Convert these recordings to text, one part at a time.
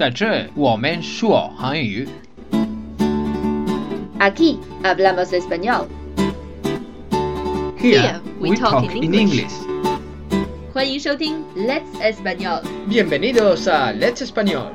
在这我们说韩语。 Aquí hablamos español. Here we talk in English. 欢迎收听 Let's Español. Bienvenidos a Let's Español.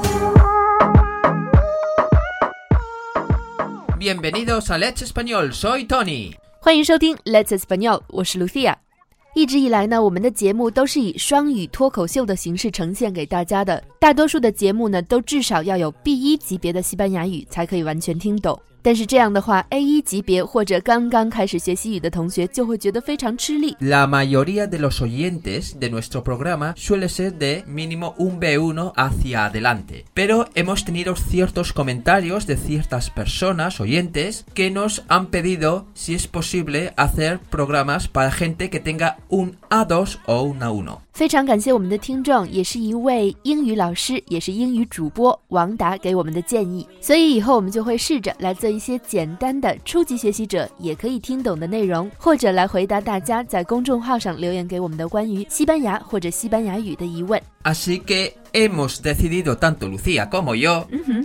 Bienvenidos a Let's Español, soy Tony. 欢迎收听 Let's Español, 我是 Lucia。一直以来呢，我们的节目都是以双语脱口秀的形式呈现给大家的。大多数的节目呢，都至少要有 B1 级别的西班牙语才可以完全听懂。但是这样的话 A1 级别或者刚刚开始学西语的同学就会觉得非常吃力。 La mayoría de los oyentes de nuestro programa suele ser de mínimo un B1 hacia adelante, pero hemos tenido ciertos comentarios de ciertas personas oyentes que nos han pedido si es posible hacer programas para gente que tenga un A2 o un A1。 非常感谢我们的听众，也是一位英语老师，也是英语主播王达给我们的建议，所以以后我们就会试着来做一些简单的初级学习者也可以听懂的内容，或者来回答大家在公众号上留言给我们的关于西班牙或者西班牙语的疑问。 Así que hemos decidido tanto Lucía como yo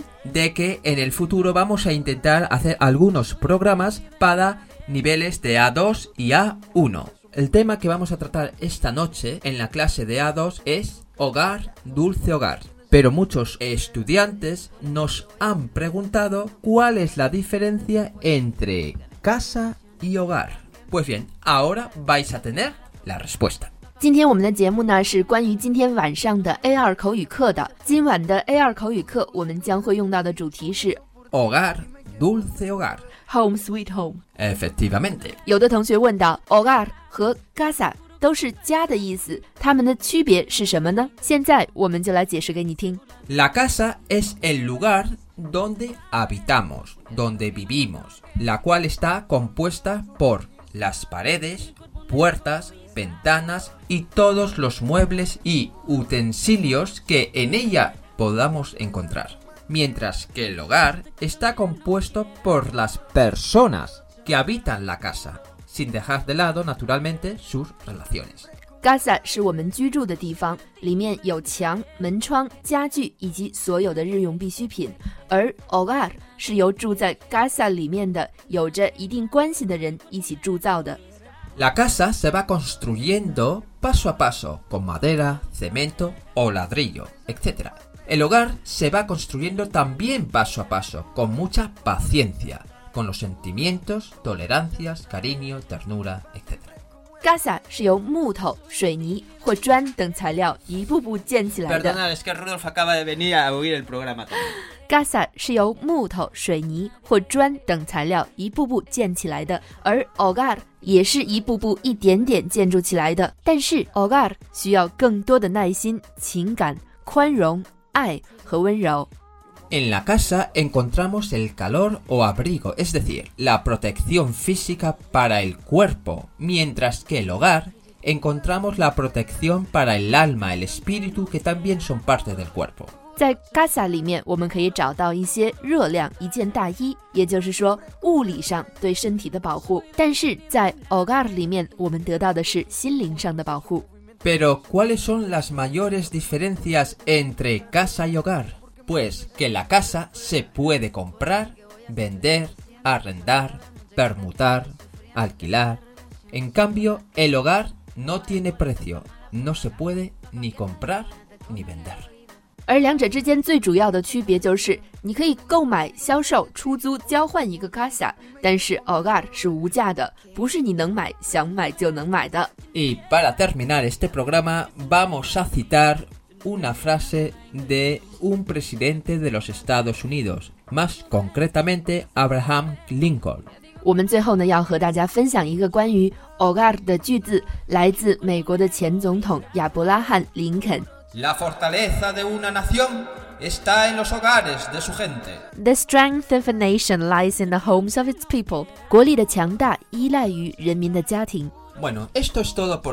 de que en el futuro vamos a intentar hacer algunos programas para niveles de A2 y A1. El tema que vamos a tratar esta noche en la clase de A2 es hogar, dulce hogar. Pero muchos estudiantes nos han preguntado cuál es la diferencia entre casa y hogar. Pues bien, ahora vais a tener la respuesta. 今天我们的节目呢是关于今天晚上的 A2 口语课的。今晚的 A2 口语课我们将会用到的主题是 Hogar, dulce hogar. Home sweet home. Efectivamente. 有的同学问到 hogar 和 casa 都是家的意思，它们的区别是什么呢？现在我们就来解释给你听。 La casa es el lugar donde habitamos, donde vivimos, la cual está compuesta por las paredes, puertas, ventanas y todos los muebles y utensilios que en ella podamos encontrar. Mientras que el hogar está compuesto por las personas que habitan la casa, sin dejar de lado, naturalmente, sus relaciones. Casa 是我们居住的地方，里面有墙、门窗、家具以及所有的日用必需品，而 hogar 是由住在 casa 里面的有着一定关系的人一起铸造的。 La casa se va construyendo paso a paso, con madera, cemento o ladrillo, etc. El hogar se va construyendo también paso a paso, con mucha paciencia, con los sentimientos, tolerancias, cariño, ternura, etc. Casa 是由木头、水泥或砖等材料一步步建起来的。 Perdona, es que Rudolf acaba de venir a oír el programa también. Casa 是由木头、水泥或砖等材料一步步建起来的，而 hogar 也是一步步一点点建筑起来的。但是 hogar 需要更多的耐心、情感、宽容、爱和温柔。 En la casa encontramos el calor o abrigo, es decir, la protección física para el cuerpo, mientras que el hogar encontramos la protección para el alma, el espíritu, que también son parte del cuerpo. 在 casa 里面我们可以找到一些热量、一件大衣，也就是说物理上对身体的保护，但是在 hogar 里面我们得到的是心灵上的保护。 Pero, ¿cuáles son las mayores diferencias entre casa y hogar? Pues que la casa se puede comprar, vender, arrendar, permutar, alquilar. En cambio, el hogar no tiene precio, no se puede ni comprar ni vender. 而两者之间最主要的区别就是，你可以购买、销售、出租、交换一个 casa， 但是 hogar 是无价的，不是你能买、想买就能买的。 Y para terminar este programa, vamos a citar una frase de un presidente de los Estados Unidos, más concretamente Abraham Lincoln. 我们最后呢，要和大家分享一个关于 hogar 的句子，来自美国的前总统亚伯拉罕·林肯。 La fortaleza de una nación está en los hogares de su gente. The strength of a nation lies in the homes of its people. 国力的强大依赖于人民的家庭。 Bueno, esto es todo por hoy.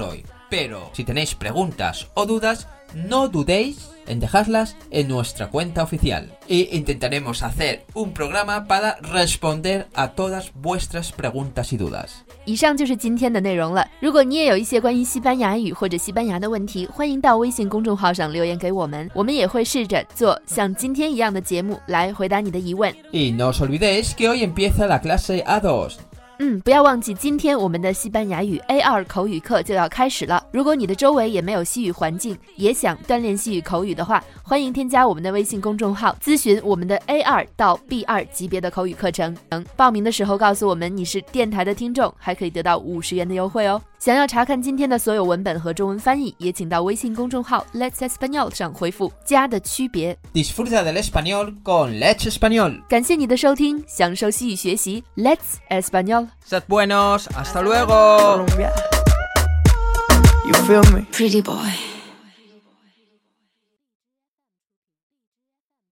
Pero si tenéis preguntas o dudas, no dudéis en dejarlas en nuestra cuenta oficial e intentaremos hacer un programa para responder a todas vuestras preguntas y dudas。 以上就是今天的内容了。如果你也有一些关于西班牙语或者西班牙的问题，欢迎到微信公众号上留言给我们，我们也会试着做像今天一样的节目来回答你的疑问。 Y no os olvidéis que hoy empieza la clase A2。 不要忘记今天我们的西班牙语 A2 口语课就要开始了。如果你的周围也没有西语环境，也想锻炼西语口语的话，欢迎添加我们的微信公众号，咨询我们的 A2 到 B2 级别的口语课程。报名的时候告诉我们你是电台的听众，还可以得到50元的优惠哦。想要查看今天的所有文本和中文翻译，也请到微信公众号 Let's Español 上回复加的区别。 Disfruta del español con Let's Español。 感谢你的收听，享受西语学习 Let's Español。Sed buenos, hasta luego. You feel me? Pretty boy.